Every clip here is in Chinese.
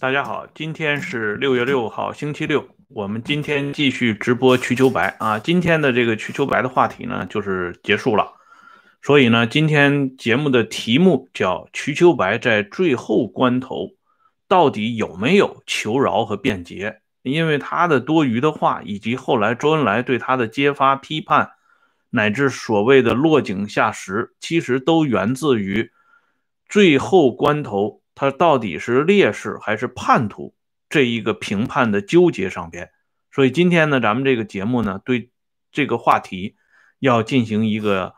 大家好，今天是6月6号，星期六。我们今天继续直播瞿秋白啊。今天的这个瞿秋白的话题呢，就是结束了。所以呢，今天节目的题目叫瞿秋白在最后关头到底有没有求饶和辩解？因为他的多余的话，以及后来周恩来对他的揭发、批判，乃至所谓的落井下石，其实都源自于最后关头他到底是烈士还是叛徒这一个评判的纠结上边。所以今天呢，咱们这个节目呢，对这个话题要进行一个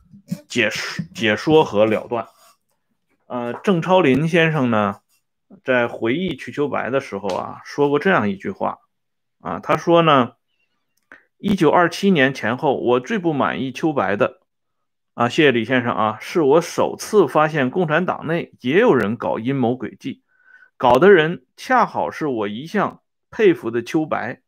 解说和了断。郑超林先生呢，在回忆瞿秋白的时候啊，说过这样一句话啊，他说呢，1927年前后，我最不满意秋白的啊，谢谢李先生啊，是我首次发现共产党内也有人搞阴谋诡计，搞的人恰好是我一向佩服的秋白。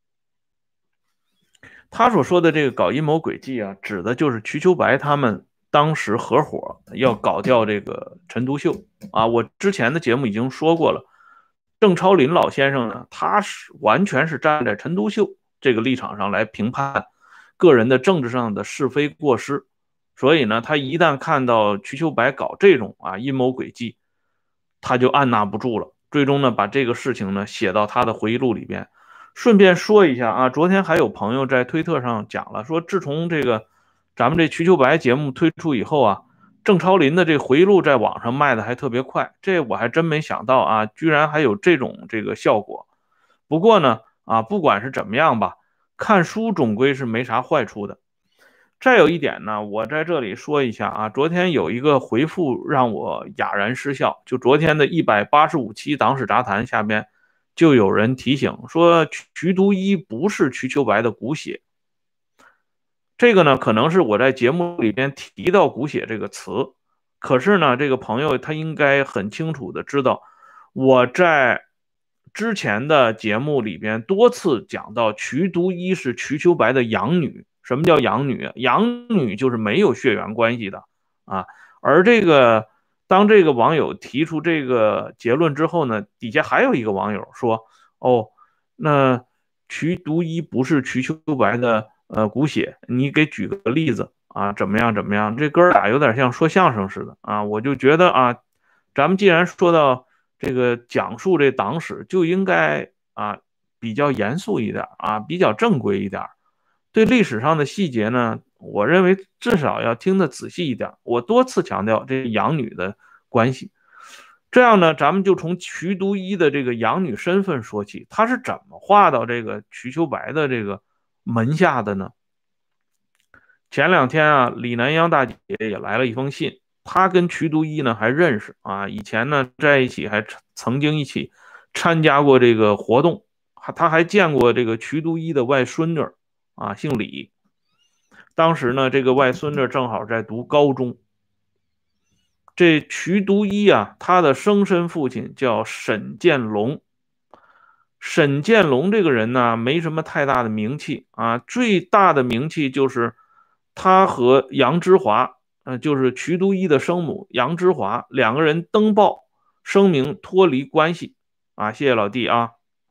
他所说的这个搞阴谋诡计啊，指的就是瞿秋白他们当时合伙要搞掉这个陈独秀啊。我之前的节目已经说过了，郑超林老先生呢，他是完全是站在陈独秀这个立场上来评判个人的政治上的是非过失，所以呢，他一旦看到瞿秋白搞这种阴谋诡计，他就按捺不住了，最终呢，把这个事情呢写到他的回忆录里边。顺便说一下啊，昨天还有朋友在推特上讲了，说自从这个咱们这瞿秋白节目推出以后啊，郑超林的这回忆录在网上卖的还特别快，这我还真没想到啊，居然还有这个效果。不过呢，不管是怎么样吧，看书总归是没啥坏处的。再有一点呢，我在这里说一下啊，昨天有一个回复让我哑然失笑，就昨天的185期党史杂谈下边。就有人提醒说，瞿独一不是瞿秋白的骨血。这个呢，可能是我在节目里边提到骨血这个词，可是呢，这个朋友他应该很清楚的知道，我在之前的节目里边多次讲到，瞿独一是瞿秋白的养女。什么叫养女？养女就是没有血缘关系的啊。而当这个网友提出这个结论之后呢，底下还有一个网友说：“哦，那瞿独一不是瞿秋白的骨血，你给举个例子啊？怎么样怎么样？这哥俩有点像说相声似的啊！”我就觉得啊，咱们既然说到这个讲述这党史，就应该比较严肃一点啊，比较正规一点。对历史上的细节呢，我认为至少要听得仔细一点。我多次强调这养女的关系，这样呢，咱们就从瞿独一的这个养女身份说起，她是怎么划到这个瞿秋白的这个门下的呢？前两天啊，李南央大姐也来了一封信，她跟瞿独一呢还认识啊，以前呢在一起还曾经一起参加过这个活动，她还见过这个瞿独一的外孙女啊，姓李。当时呢，这个外孙女正好在读高中。这瞿独一啊，他的生身父亲叫沈建龙。沈建龙这个人呢，没什么太大的名气啊，最大的名气就是他和杨之华，就是瞿独一的生母杨之华两个人登报声明脱离关系啊，谢谢老弟啊，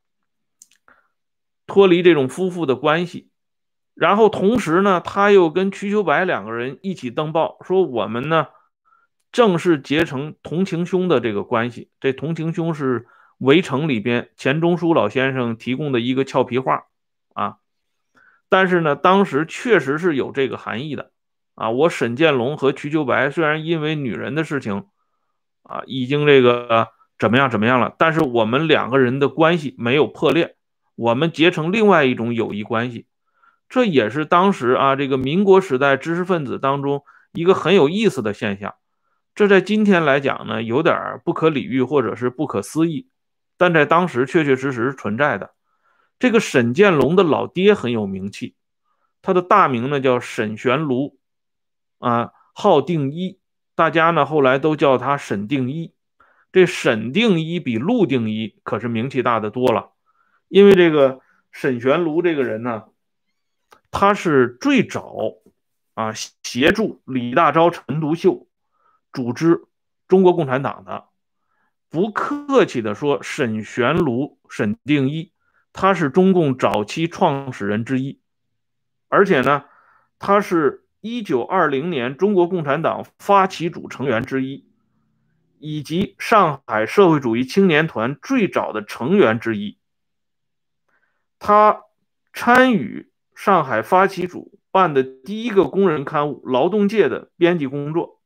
脱离这种夫妇的关系。然后同时呢，他又跟瞿秋白两个人一起登报说，我们呢正式结成同情兄的这个关系。这同情兄是《围城》里边钱钟书老先生提供的一个俏皮话啊。但是呢，当时确实是有这个含义的啊。我沈建龙和瞿秋白虽然因为女人的事情已经这个怎么样怎么样了，但是我们两个人的关系没有破裂，我们结成另外一种友谊关系。这也是当时这个民国时代知识分子当中一个很有意思的现象。这在今天来讲呢，有点不可理喻或者是不可思议，但在当时确确实实存在的。这个沈建龙的老爹很有名气，他的大名呢叫沈玄庐号定一，大家呢后来都叫他沈定一。这沈定一比陆定一可是名气大得多了，因为这个沈玄庐这个人呢，他是最早协助李大钊、陈独秀组织中国共产党的。 不客气的说，沈玄庐、沈定一，他是中共早期创始人之一，而且呢，他是1920年中国共产党发起组成员之一，以及上海社会主义青年团最早的成员之一。他参与上海发起组办的第一个工人刊物《劳动界》的编辑工作，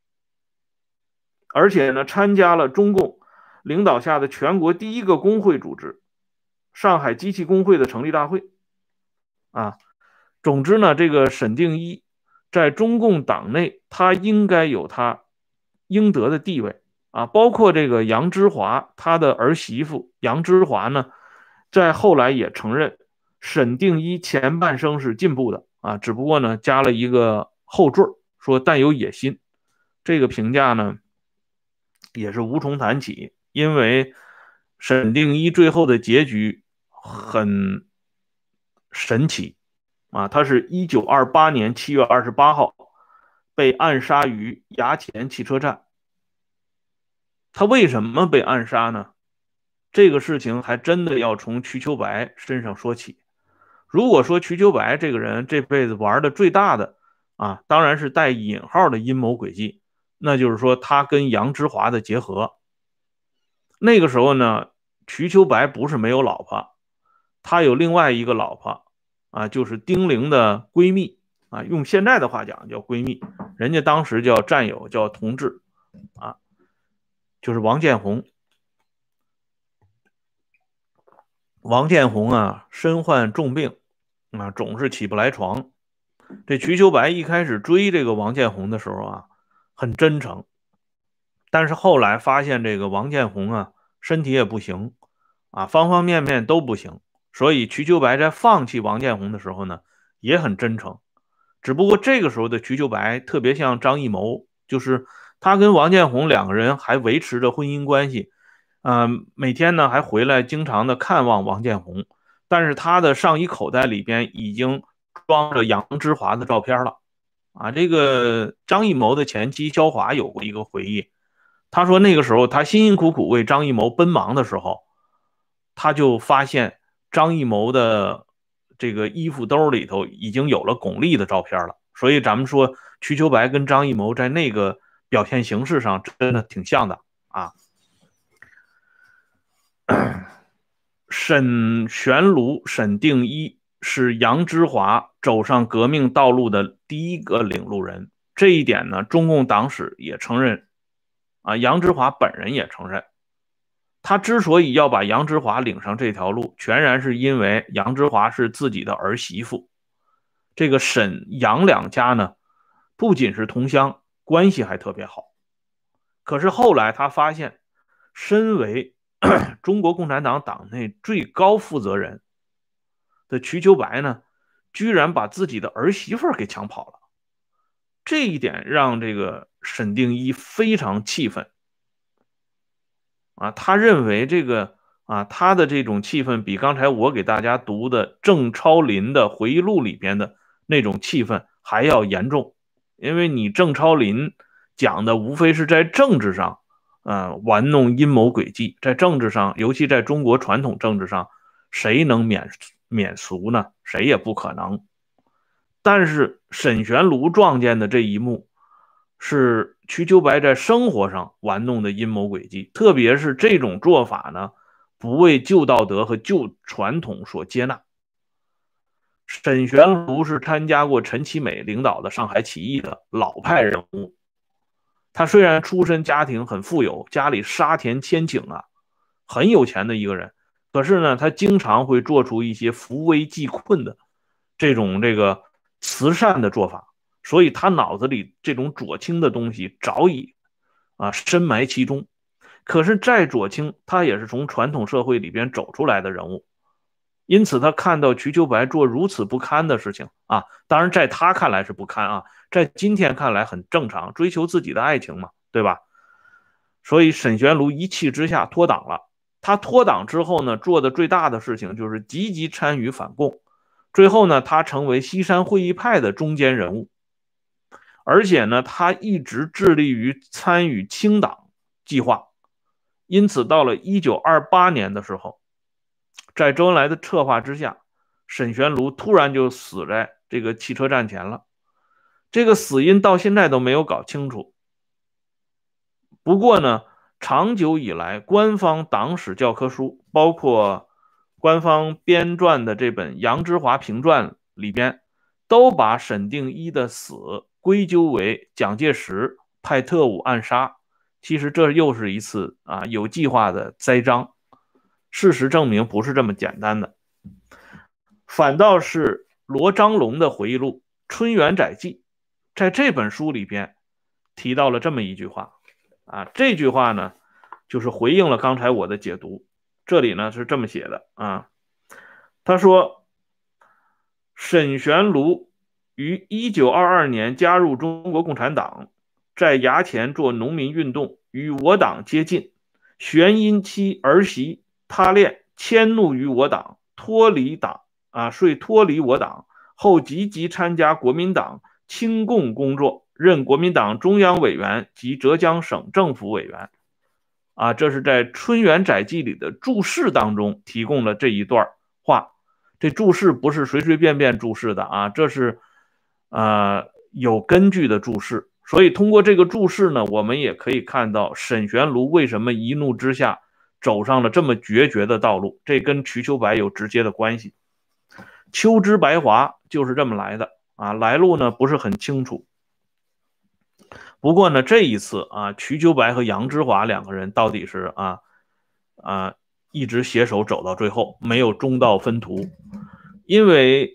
而且呢，参加了中共领导下的全国第一个工会组织上海机器工会的成立大会啊。总之呢，这个沈定一在中共党内，他应该有他应得的地位啊。包括这个杨之华，他的儿媳妇杨之华呢，在后来也承认沈定一前半生是进步的啊，只不过呢加了一个后缀，说但有野心。这个评价呢也是无从谈起，因为沈定一最后的结局很神奇啊，他是1928年7月28号被暗杀于衙前汽车站。他为什么被暗杀呢？这个事情还真的要从瞿秋白身上说起。如果说瞿秋白这个人这辈子玩的最大的啊，当然是带引号的阴谋诡计，那就是说他跟杨之华的结合。那个时候呢，瞿秋白不是没有老婆，他有另外一个老婆啊，就是丁玲的闺蜜啊，用现在的话讲叫闺蜜，人家当时叫战友，叫同志啊，就是王建红。王建红啊，身患重病啊，总是起不来床。这瞿秋白一开始追这个王建红的时候啊，很真诚，但是后来发现这个王建红啊，身体也不行啊，方方面面都不行，所以瞿秋白在放弃王建红的时候呢，也很真诚。只不过这个时候的瞿秋白特别像张艺谋，就是他跟王建红两个人还维持着婚姻关系，每天呢还回来经常的看望王建红，但是他的上衣口袋里边已经装着杨之华的照片了啊。这个张艺谋的前妻肖华有过一个回忆，他说那个时候他辛辛苦苦为张艺谋奔忙的时候，他就发现张艺谋的这个衣服兜里头已经有了巩俐的照片了。所以咱们说瞿秋白跟张艺谋在那个表现形式上真的挺像的啊。沈玄庐、沈定一是杨之华走上革命道路的第一个领路人，这一点呢，中共党史也承认啊，杨之华本人也承认。他之所以要把杨之华领上这条路，全然是因为杨之华是自己的儿媳妇。这个沈杨两家呢，不仅是同乡，关系还特别好。可是后来他发现，身为中国共产党党内最高负责人的瞿秋白呢，居然把自己的儿媳妇给抢跑了。这一点让这个沈定一非常气愤啊，他认为这个啊，他的这种气愤比刚才我给大家读的郑超林的回忆录里边的那种气愤还要严重，因为你郑超林讲的无非是在政治上，玩弄阴谋诡计，在政治上，尤其在中国传统政治上，谁能免俗呢？谁也不可能。但是沈玄庐撞见的这一幕，是瞿秋白在生活上玩弄的阴谋诡计，特别是这种做法呢，不为旧道德和旧传统所接纳。沈玄庐是参加过陈其美领导的上海起义的老派人物，他虽然出身家庭很富有，家里沙田千顷啊，很有钱的一个人，可是呢，他经常会做出一些扶危济困的这个慈善的做法，所以他脑子里这种左倾的东西早已深埋其中。可是再左倾，他也是从传统社会里边走出来的人物，因此他看到瞿秋白做如此不堪的事情啊，当然在他看来是不堪啊，在今天看来很正常，追求自己的爱情嘛，对吧？所以沈玄庐一气之下脱党了。他脱党之后呢，做的最大的事情就是积极参与反共。最后呢，他成为西山会议派的中坚人物，而且呢，他一直致力于参与清党计划， 因此到了1928年的时候，在周恩来的策划之下，沈玄庐突然就死在这个汽车站前了。这个死因到现在都没有搞清楚。不过呢，长久以来，官方党史教科书，包括官方编撰的这本杨之华评传里边，都把沈定一的死归咎为蒋介石派特务暗杀。其实这又是一次有计划的栽赃。事实证明不是这么简单的，反倒是罗章龙的回忆录《春园载记》在这本书里边提到了这么一句话这句话呢就是回应了刚才我的解读。这里呢是这么写的他说沈玄庐于1922年加入中国共产党，在衙前做农民运动，与我党接近，旋因其儿媳他恋迁怒于我党，脱离我党后，积极参加国民党亲共工作，任国民党中央委员及浙江省政府委员。这是在《春园载记》里的注释当中提供了这一段话。这注释不是随随便便注释的这是有根据的注释。所以通过这个注释呢，我们也可以看到沈玄庐为什么一怒之下走上了这么决绝的道路，这跟瞿秋白有直接的关系。秋之白华就是这么来的来路呢不是很清楚。不过呢，这一次瞿秋白和杨之华两个人到底是一直携手走到最后，没有中道分途。因为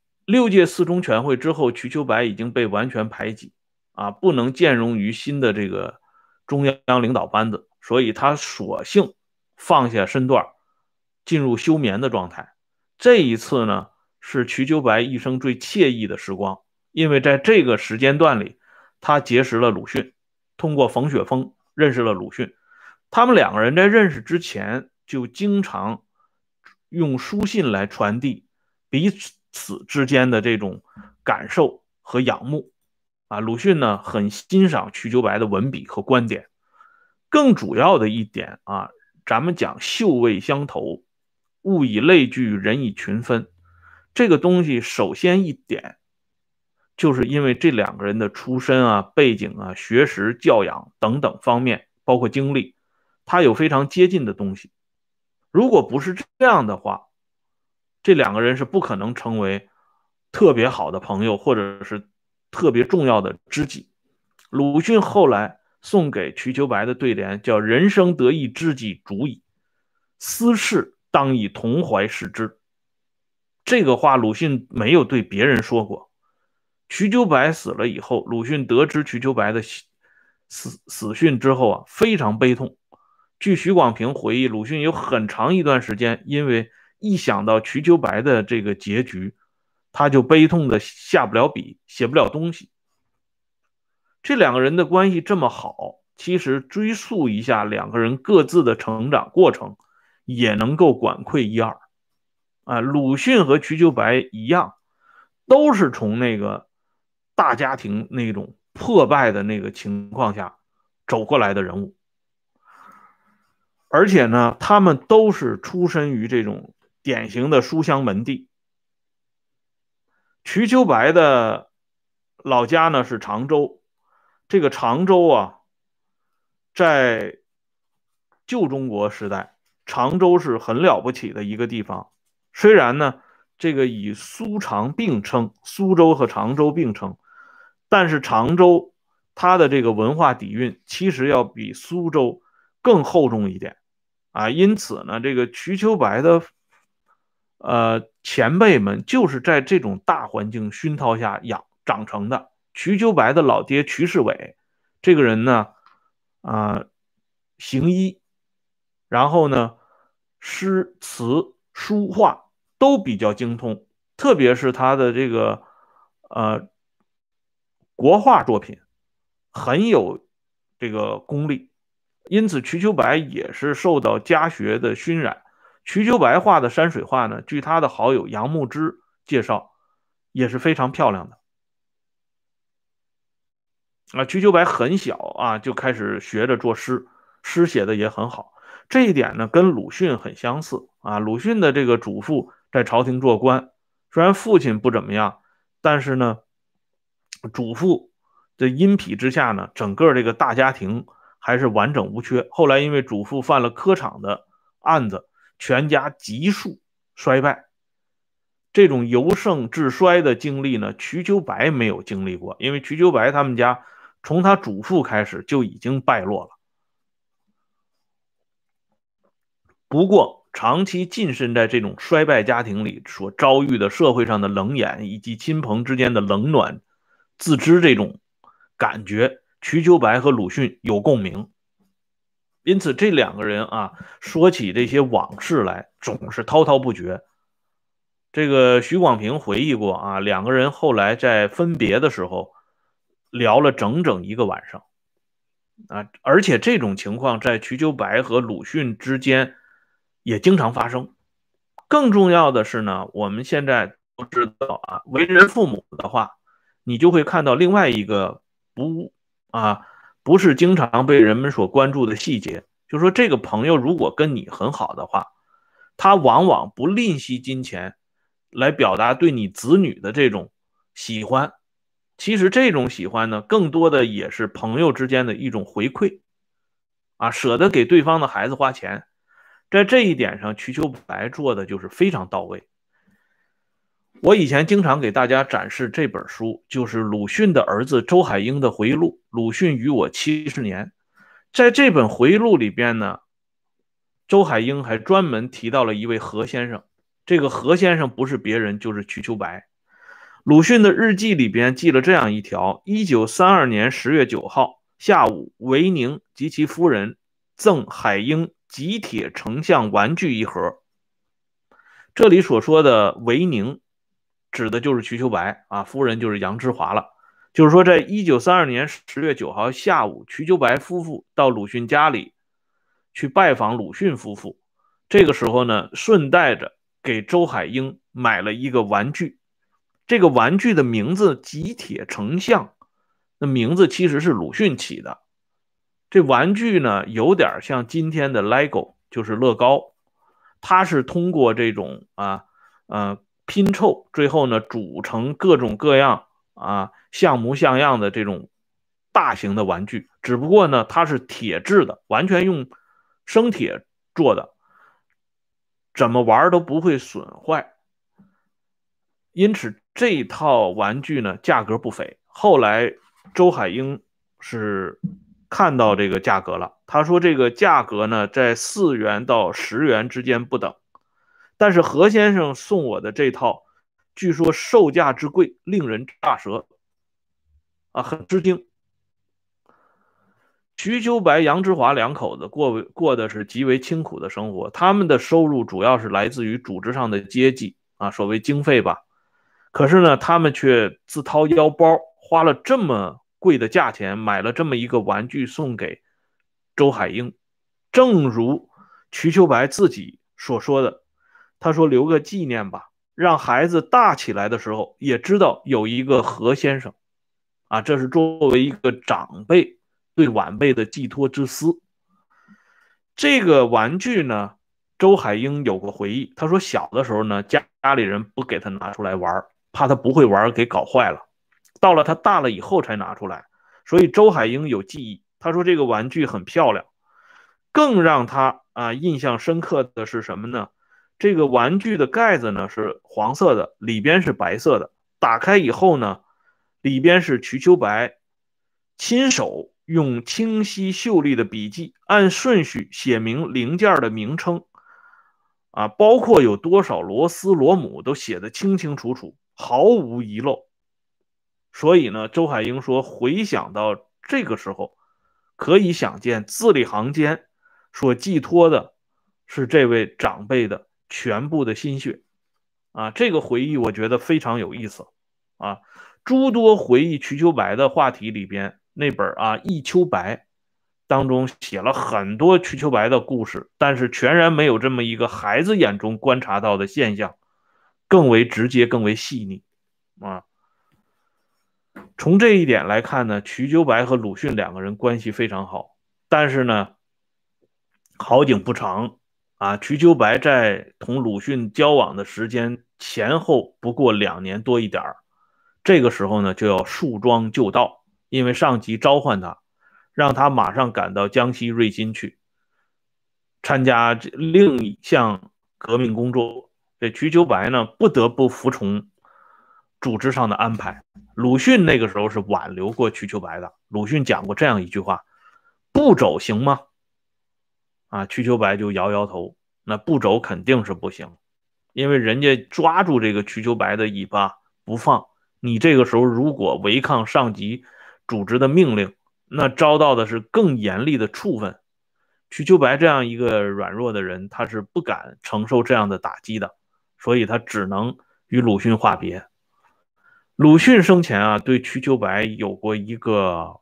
6届四中全会之后，瞿秋白已经被完全排挤不能兼容于新的这个中央领导班子，所以他索性放下身段，进入休眠的状态。这一次呢，是瞿秋白一生最惬意的时光，因为在这个时间段里，他结识了鲁迅，通过冯雪峰认识了鲁迅。他们两个人在认识之前就经常用书信来传递彼此之间的这种感受和仰慕鲁迅呢很欣赏瞿秋白的文笔和观点。更主要的一点咱们讲嗅味相投，物以类聚，人以群分。这个东西首先一点就是因为这两个人的出身背景学识教养等等方面，包括经历，他有非常接近的东西。如果不是这样的话，这两个人是不可能成为特别好的朋友，或者是特别重要的知己。鲁迅后来送给瞿秋白的对联叫人生得意知己足矣，私事当以同怀视之。这个话鲁迅没有对别人说过。瞿秋白死了以后，鲁迅得知瞿秋白的死讯之后非常悲痛。据许广平回忆，鲁迅有很长一段时间因为一想到瞿秋白的这个结局，他就悲痛的下不了笔，写不了东西。这两个人的关系这么好，其实追溯一下两个人各自的成长过程，也能够管窥一二鲁迅和瞿秋白一样，都是从那个大家庭那种破败的那个情况下走过来的人物。而且呢，他们都是出身于这种典型的书香门第。瞿秋白的老家呢是常州，这个常州在旧中国时代，常州是很了不起的一个地方。虽然呢，这个以苏常并称，苏州和常州并称，但是常州它的这个文化底蕴其实要比苏州更厚重一点因此呢，这个瞿秋白的前辈们就是在这种大环境熏陶下长成的。瞿秋白的老爹瞿世伟这个人呢行医，然后呢诗词书画都比较精通，特别是他的这个国画作品很有这个功力。因此瞿秋白也是受到家学的熏染。瞿秋白画的山水画呢，据他的好友杨牧之介绍，也是非常漂亮的。瞿秋白很小就开始学着作诗，诗写的也很好。 这一点呢跟鲁迅很相似啊。鲁迅的这个祖父在朝廷做官，虽然父亲不怎么样，但是呢，祖父的荫庇之下呢，整个这个大家庭还是完整无缺。后来因为祖父犯了科场的案子，全家急速衰败。这种由盛至衰的经历呢，瞿秋白没有经历过，因为瞿秋白他们家从他祖父开始就已经败落了。不过，长期浸身在这种衰败家庭里所遭遇的社会上的冷眼，以及亲朋之间的冷暖自知这种感觉，瞿秋白和鲁迅有共鸣。因此，这两个人啊，说起这些往事来，总是滔滔不绝。这个许广平回忆过啊，两个人后来在分别的时候聊了整整一个晚上啊，而且这种情况在瞿秋白和鲁迅之间也经常发生。更重要的是呢，我们现在都知道啊，为人父母的话，你就会看到另外一个不啊不是经常被人们所关注的细节，就是说这个朋友如果跟你很好的话，他往往不吝惜金钱来表达对你子女的这种喜欢。其实这种喜欢呢，更多的也是朋友之间的一种回馈啊，舍得给对方的孩子花钱。在这一点上，瞿秋白做的就是非常到位。我以前经常给大家展示这本书，就是鲁迅的儿子周海婴的回忆录《鲁迅与我70年》。在这本回忆录里边呢，周海婴还专门提到了一位何先生。这个何先生不是别人，就是瞿秋白。鲁迅的日记里边记了这样一条：1932年10月9号下午，维宁及其夫人赠海婴极铁成像玩具一盒。这里所说的维宁指的就是瞿秋白啊，夫人就是杨之华了。就是说，在1932年10月9号下午，瞿秋白夫妇到鲁迅家里去拜访鲁迅夫妇。这个时候呢，顺带着给周海婴买了一个玩具。这个玩具的名字极铁成像，那名字其实是鲁迅起的。这玩具呢，有点像今天的 LEGO， 就是乐高。它是通过这种拼凑，最后呢组成各种各样像模像样的这种大型的玩具。只不过呢，它是铁制的，完全用生铁做的，怎么玩都不会损坏。因此这一套玩具呢价格不菲。后来周海婴是看到这个价格了，他说这个价格呢在4元到10元之间不等。但是何先生送我的这套，据说售价之贵，令人大舌啊，很吃惊。瞿秋白、杨之华两口子过的是极为清苦的生活，他们的收入主要是来自于组织上的接济啊，所谓经费吧。可是呢，他们却自掏腰包花了这么贵的价钱买了这么一个玩具送给周海婴。正如瞿秋白自己所说的，他说留个纪念吧，让孩子大起来的时候也知道有一个何先生啊，这是作为一个长辈对晚辈的寄托之思。这个玩具呢，周海婴有过回忆，他说小的时候呢，家里人不给他拿出来玩，怕他不会玩给搞坏了。到了他大了以后才拿出来，所以周海婴有记忆。他说这个玩具很漂亮。更让他印象深刻的是什么呢？这个玩具的盖子呢是黄色的，里边是白色的。打开以后呢，里边是瞿秋白亲手用清晰秀丽的笔记按顺序写明零件的名称包括有多少螺丝螺母都写得清清楚楚，毫无遗漏。所以呢，周海婴说，回想到这个时候，可以想见字里行间所寄托的是这位长辈的全部的心血这个回忆我觉得非常有意思啊。诸多回忆瞿秋白的话题里边，那本忆秋白》当中写了很多瞿秋白的故事，但是全然没有这么一个孩子眼中观察到的现象更为直接、更为细腻啊。从这一点来看呢，瞿秋白和鲁迅两个人关系非常好，但是呢， 好景不长啊，瞿秋白在同鲁迅交往的时间前后不过2年多一点，这个时候呢就要束装就到，因为上级召唤他，让他马上赶到江西瑞金去参加另一项革命工作。这瞿秋白呢不得不服从组织上的安排。鲁迅那个时候是挽留过瞿秋白的，鲁迅讲过这样一句话：不走行吗？啊，瞿秋白就摇摇头，那不走肯定是不行，因为人家抓住这个瞿秋白的尾巴不放，你这个时候如果违抗上级组织的命令，那遭到的是更严厉的处分。瞿秋白这样一个软弱的人，他是不敢承受这样的打击的，所以他只能与鲁迅话别。鲁迅生前啊，对瞿秋白有过一个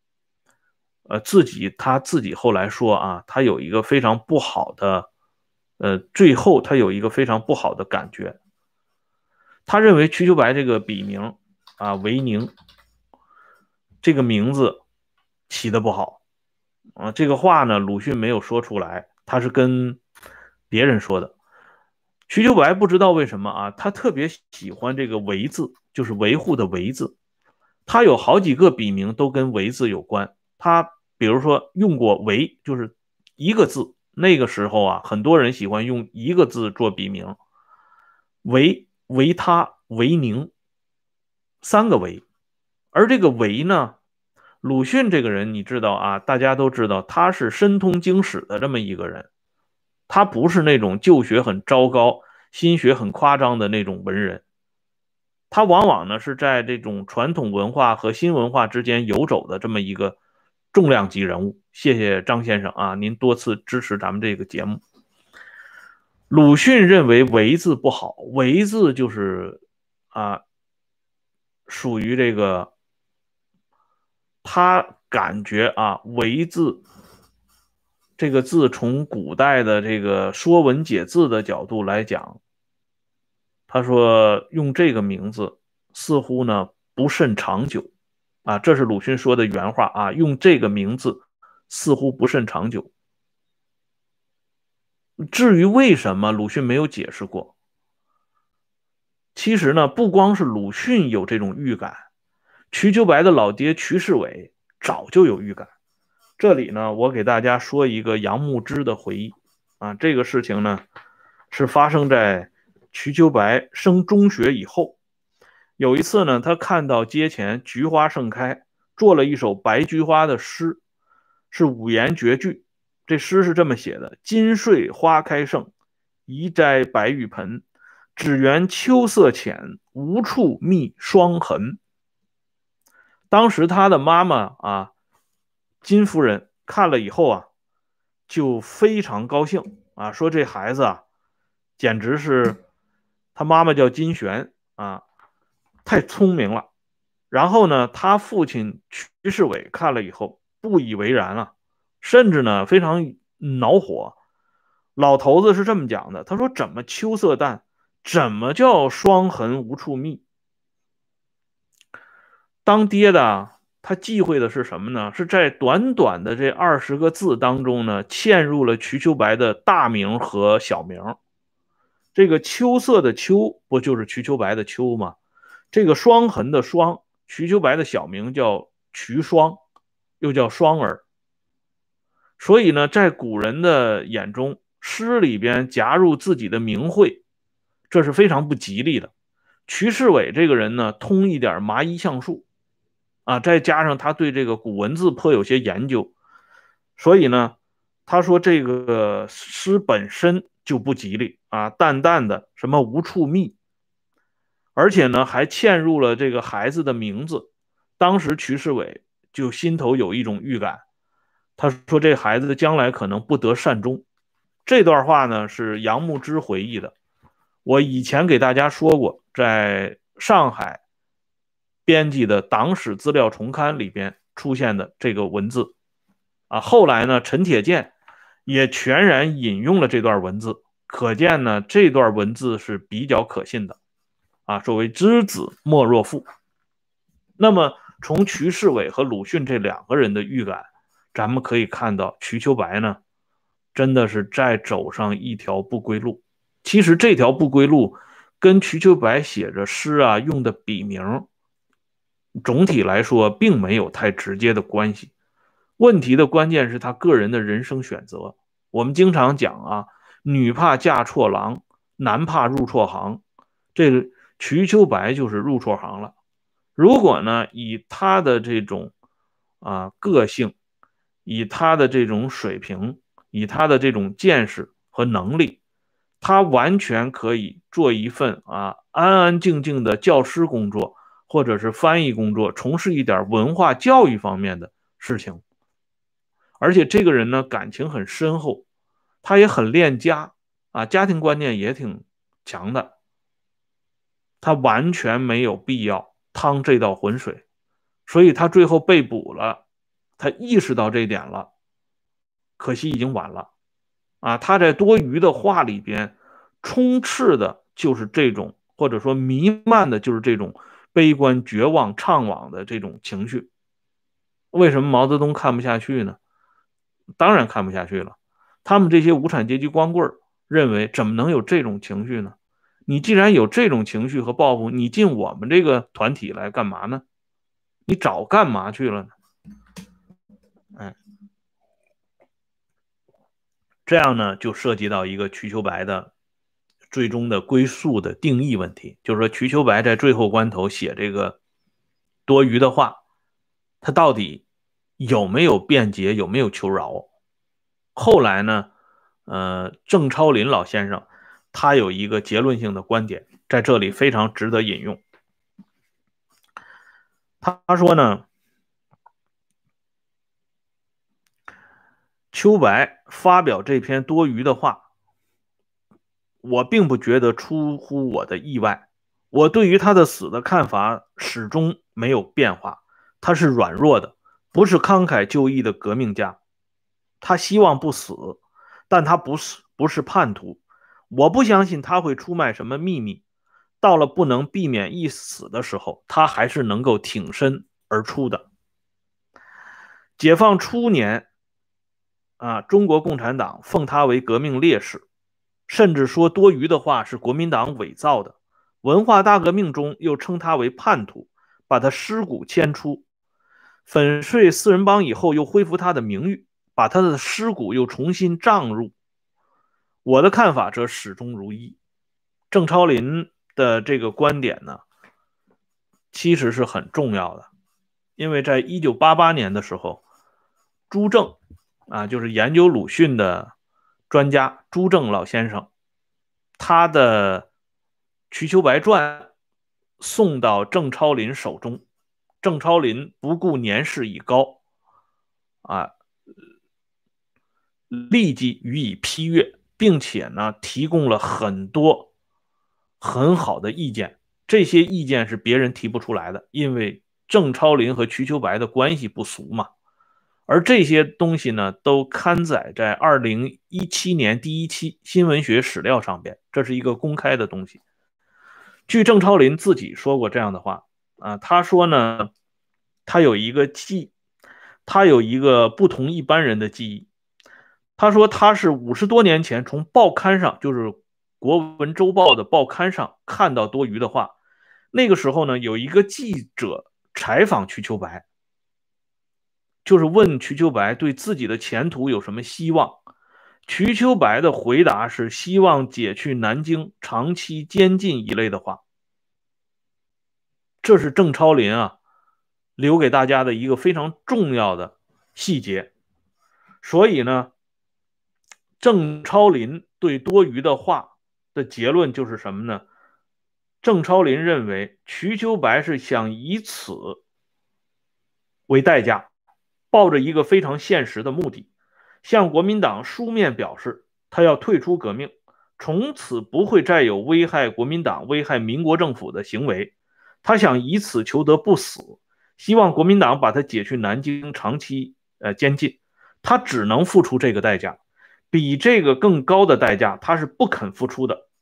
他自己后来说啊，他有一个非常不好的，最后他有一个非常不好的感觉。他认为瞿秋白这个笔名啊，维宁这个名字起得不好啊。这个话呢，鲁迅没有说出来，他是跟别人说的。瞿秋白不知道为什么啊，他特别喜欢这个维字，就是维护的维字。他有好几个笔名都跟维字有关。他比如说用过维，就是一个字。那个时候啊，很多人喜欢用一个字做笔名，维、维他、维宁，三个维。而这个维呢，鲁迅这个人你知道啊，大家都知道他是深通经史的这么一个人，他不是那种旧学很糟糕、新学很夸张的那种文人。他往往呢是在这种传统文化和新文化之间游走的这么一个重量级人物。谢谢张先生啊，您多次支持咱们这个节目。鲁迅认为维字不好，维字就是啊，属于这个他感觉啊，维字这个字从古代的这个说文解字的角度来讲，他说用这个名字似乎呢不甚长久啊，这是鲁迅说的原话啊，用这个名字似乎不甚长久。至于为什么，鲁迅没有解释过。其实呢，不光是鲁迅有这种预感，瞿秋白的老爹瞿世伟早就有预感。这里呢，我给大家说一个杨牧之的回忆啊，这个事情呢是发生在瞿秋白升中学以后。有一次呢，他看到街前菊花盛开，做了一首白菊花的诗，是五言绝句。这诗是这么写的：今岁花开盛，宜摘白玉盆。只缘秋色浅，无处觅霜痕。当时他的妈妈啊，金夫人看了以后啊，就非常高兴啊，说这孩子啊，简直是他妈妈叫金璇啊，太聪明了。然后呢，他父亲瞿世伟看了以后不以为然了，甚至呢非常恼火。老头子是这么讲的，他说：“怎么秋色淡？怎么叫霜痕无处觅？”当爹的他忌讳的是什么呢？是在短短的这20个字当中呢，嵌入了瞿秋白的大名和小名。这个秋色的秋，不就是瞿秋白的秋吗？这个霜痕的霜，瞿秋白的小名叫瞿霜，又叫双儿。所以呢，在古人的眼中，诗里边夹入自己的名讳，这是非常不吉利的。瞿世伟这个人呢，通一点麻衣橡树啊，再加上他对这个古文字颇有些研究，所以呢，他说这个诗本身就不吉利啊，淡淡的什么无处觅，而且呢还嵌入了这个孩子的名字。当时瞿世伟就心头有一种预感，他说这孩子将来可能不得善终。这段话呢是杨牧之回忆的，我以前给大家说过，在上海编辑的党史资料丛刊里边出现的这个文字啊。后来呢，陈铁健也全然引用了这段文字，可见呢这段文字是比较可信的啊。所谓知子莫若父。那么从瞿世伟和鲁迅这2个人的预感，咱们可以看到瞿秋白呢真的是在走上一条不归路。其实这条不归路跟瞿秋白写着诗啊用的笔名，总体来说并没有太直接的关系。问题的关键是他个人的人生选择。我们经常讲啊，女怕嫁错郎，男怕入错行。这个瞿秋白就是入错行了。如果呢，以他的这种个性，以他的这种水平，以他的这种见识和能力，他完全可以做一份安安静静的教师工作，或者是翻译工作，从事一点文化教育方面的事情。而且这个人呢，感情很深厚，他也很恋家家庭观念也挺强的，他完全没有必要趟这道浑水，所以他最后被捕了，他意识到这一点了，可惜已经晚了他在多余的话里边充斥的就是这种，或者说弥漫的就是这种悲观、绝望、怅惘的这种情绪。为什么毛泽东看不下去呢？当然看不下去了。他们这些无产阶级光棍认为，怎么能有这种情绪呢？你既然有这种情绪和抱负，你进我们这个团体来干嘛呢？你早干嘛去了呢？这样呢，就涉及到一个瞿秋白的最终的归宿的定义问题，就是说瞿秋白在最后关头写这个多余的话，他到底有没有辩解，有没有求饶？后来呢，郑超林老先生他有一个结论性的观点，在这里非常值得引用。他说呢，秋白发表这篇多余的话，我并不觉得出乎我的意外。我对于他的死的看法始终没有变化。他是软弱的，不是慷慨就义的革命家。他希望不死，但他不是叛徒。我不相信他会出卖什么秘密。到了不能避免一死的时候，他还是能够挺身而出的。解放初年中国共产党奉他为革命烈士，甚至说多余的话是国民党伪造的。文化大革命中又称他为叛徒，把他尸骨迁出。粉碎四人帮以后又恢复他的名誉，把他的尸骨又重新葬入。我的看法则始终如一。郑超林的这个观点呢，其实是很重要的，因为在1988年的时候，朱正就是研究鲁迅的专家朱正老先生，他的瞿秋白传送到郑超林手中，郑超林不顾年事已高立即予以批阅，并且呢提供了很多很好的意见。这些意见是别人提不出来的，因为郑超林和瞿秋白的关系不俗嘛。而这些东西呢，都刊载在2017年第一期新文学史料上边，这是一个公开的东西。据郑超林自己说过这样的话他说呢，他有一个不同一般人的记忆。他说他是50多年前从报刊上，就是国文周报的报刊上看到多余的话。那个时候呢，有一个记者采访瞿秋白，就是问瞿秋白对自己的前途有什么希望。瞿秋白的回答是希望解去南京，长期监禁一类的话。这是郑超林留给大家的一个非常重要的细节。所以呢，郑超林对多余的话的结论就是什么呢？郑超林认为瞿秋白是想以此为代价，抱着一个非常现实的目的，向国民党书面表示他要退出革命，从此不会再有危害国民党、危害民国政府的行为。他想以此求得不死，希望国民党把他解去南京，长期监禁。他只能付出这个代价，比这个更高的代价他是不肯付出的。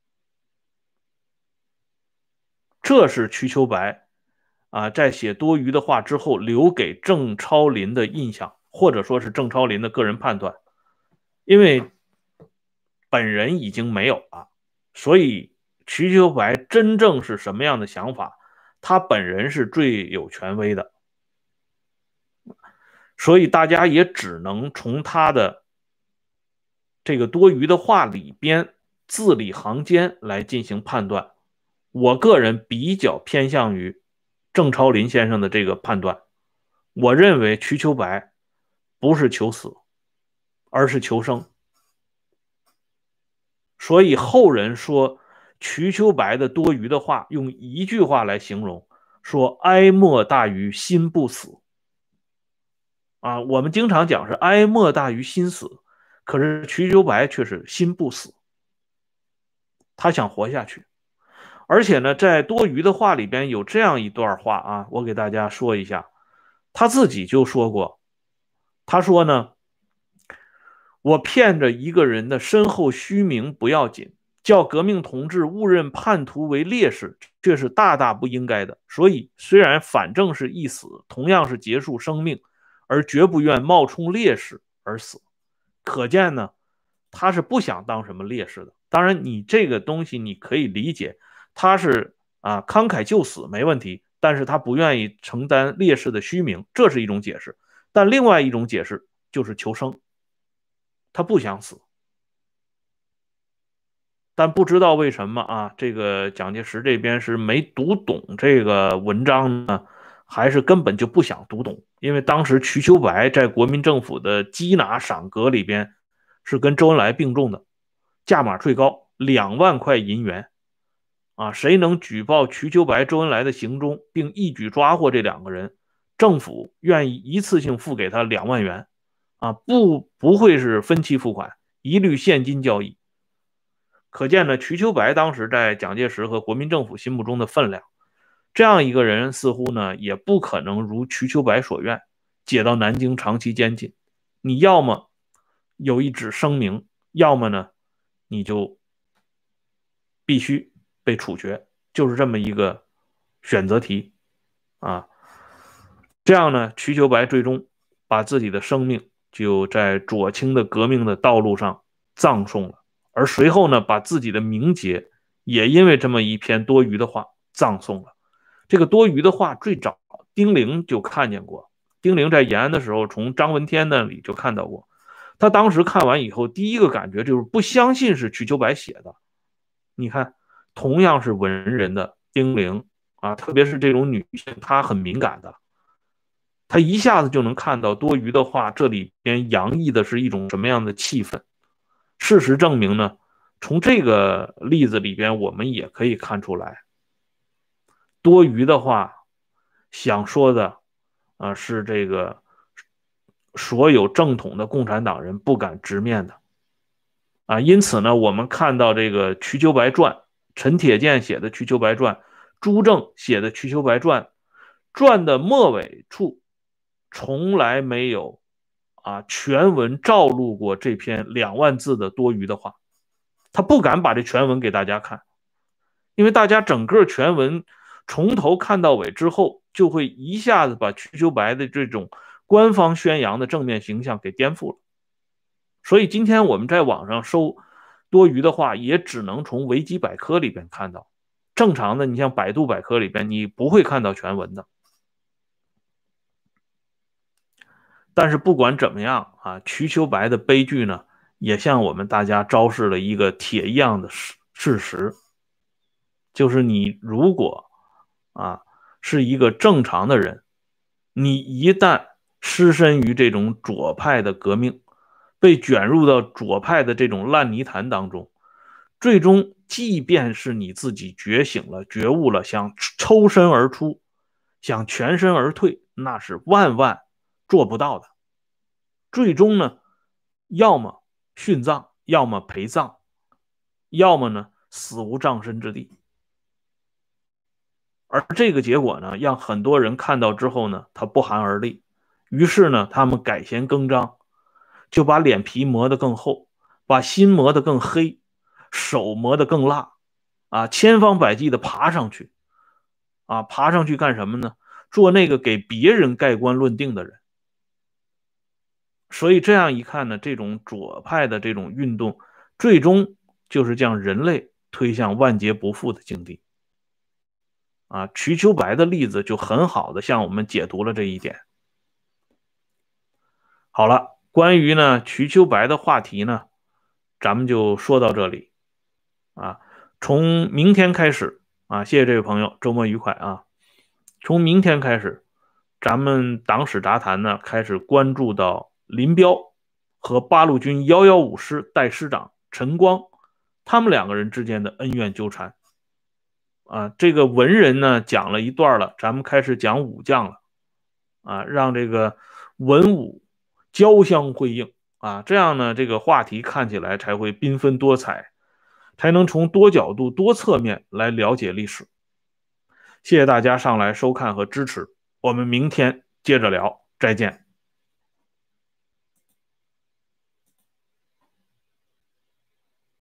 这是瞿秋白在写多余的话之后留给郑超林的印象，或者说是郑超林的个人判断。 因为本人已经没有了，所以瞿秋白真正是什么样的想法，他本人是最有权威的，所以大家也只能从他的这个多余的话里边字里行间来进行判断。我个人比较偏向于郑超林先生的这个判断，我认为瞿秋白不是求死，而是求生。所以后人说瞿秋白的多余的话，用一句话来形容，说哀莫大于心不死。啊，我们经常讲是哀莫大于心死，可是瞿秋白却是心不死，他想活下去。而且呢，在多余的话里边有这样一段话啊，我给大家说一下，他自己就说过，他说呢，我骗着一个人的身后虚名不要紧，叫革命同志误认叛徒为烈士，却是大大不应该的。所以，虽然反正是一死，同样是结束生命，而绝不愿冒充烈士而死。可见呢，他是不想当什么烈士的。当然，你这个东西你可以理解，他是慷慨就死没问题，但是他不愿意承担烈士的虚名，这是一种解释。但另外一种解释就是求生。他不想死，但不知道为什么啊，这个蒋介石这边是没读懂这个文章呢，还是根本就不想读懂？因为当时瞿秋白在国民政府的缉拿赏格里边是跟周恩来并重的，价码最高2万块银元啊！谁能举报瞿秋白、周恩来的行踪，并一举抓获这2个人，政府愿意一次性付给他2万元啊，不会是分期付款，一律现金交易。可见呢，瞿秋白当时在蒋介石和国民政府心目中的分量。这样一个人似乎呢，也不可能如瞿秋白所愿，解到南京长期监禁。你要么有一纸声明，要么呢，你就必须被处决，就是这么一个选择题啊。这样呢，瞿秋白最终把自己的生命就在左倾的革命的道路上葬送了。而随后呢，把自己的名节也因为这么一篇多余的话葬送了。这个多余的话最早丁玲就看见过，丁玲在延安的时候从张闻天那里就看到过。他当时看完以后，第一个感觉就是不相信是瞿秋白写的。你看，同样是文人的丁玲啊，特别是这种女性，她很敏感的，她一下子就能看到多余的话这里边洋溢的是一种什么样的气氛。事实证明呢，从这个例子里边，我们也可以看出来，多余的话想说的是这个所有正统的共产党人不敢直面的啊。因此呢，我们看到这个瞿秋白传，陈铁剑写的瞿秋白传，朱正写的瞿秋白传，传的末尾处从来没有全文照录过这篇2万字的多余的话，他不敢把这全文给大家看，因为大家整个全文从头看到尾之后，就会一下子把瞿秋白的这种官方宣扬的正面形象给颠覆了。所以今天我们在网上搜多余的话，也只能从维基百科里边看到。正常的，你像百度百科里边，你不会看到全文的。但是不管怎么样瞿秋白的悲剧呢，也向我们大家昭示了一个铁一样的事实，就是你如果是一个正常的人，你一旦失身于这种左派的革命，被卷入到左派的这种烂泥潭当中，最终即便是你自己觉醒了、觉悟了，想抽身而出，想全身而退，那是万万做不到的。最终呢，要么殉葬，要么陪葬，要么呢死无葬身之地。而这个结果呢，让很多人看到之后呢，他不寒而栗。于是呢，他们改弦更张，就把脸皮磨得更厚，把心磨得更黑，手磨得更辣，千方百计的爬上去，爬上去干什么呢？做那个给别人盖棺论定的人。 所以这样一看呢，这种左派的这种运动，最终就是将人类推向万劫不复的境地。啊，瞿秋白的例子就很好的向我们解读了这一点。好了，关于呢瞿秋白的话题呢，咱们就说到这里啊。从明天开始啊，谢谢这位朋友，周末愉快啊。从明天开始，咱们党史杂谈呢开始关注到林彪和八路军115师代师长陈光他们两个人之间的恩怨纠缠。啊，这个文人呢讲了一段了，咱们开始讲武将了。啊，让这个文武交相辉映啊，这样呢，这个话题看起来才会缤纷多彩，才能从多角度、多侧面来了解历史。谢谢大家上来收看和支持，我们明天接着聊，再见。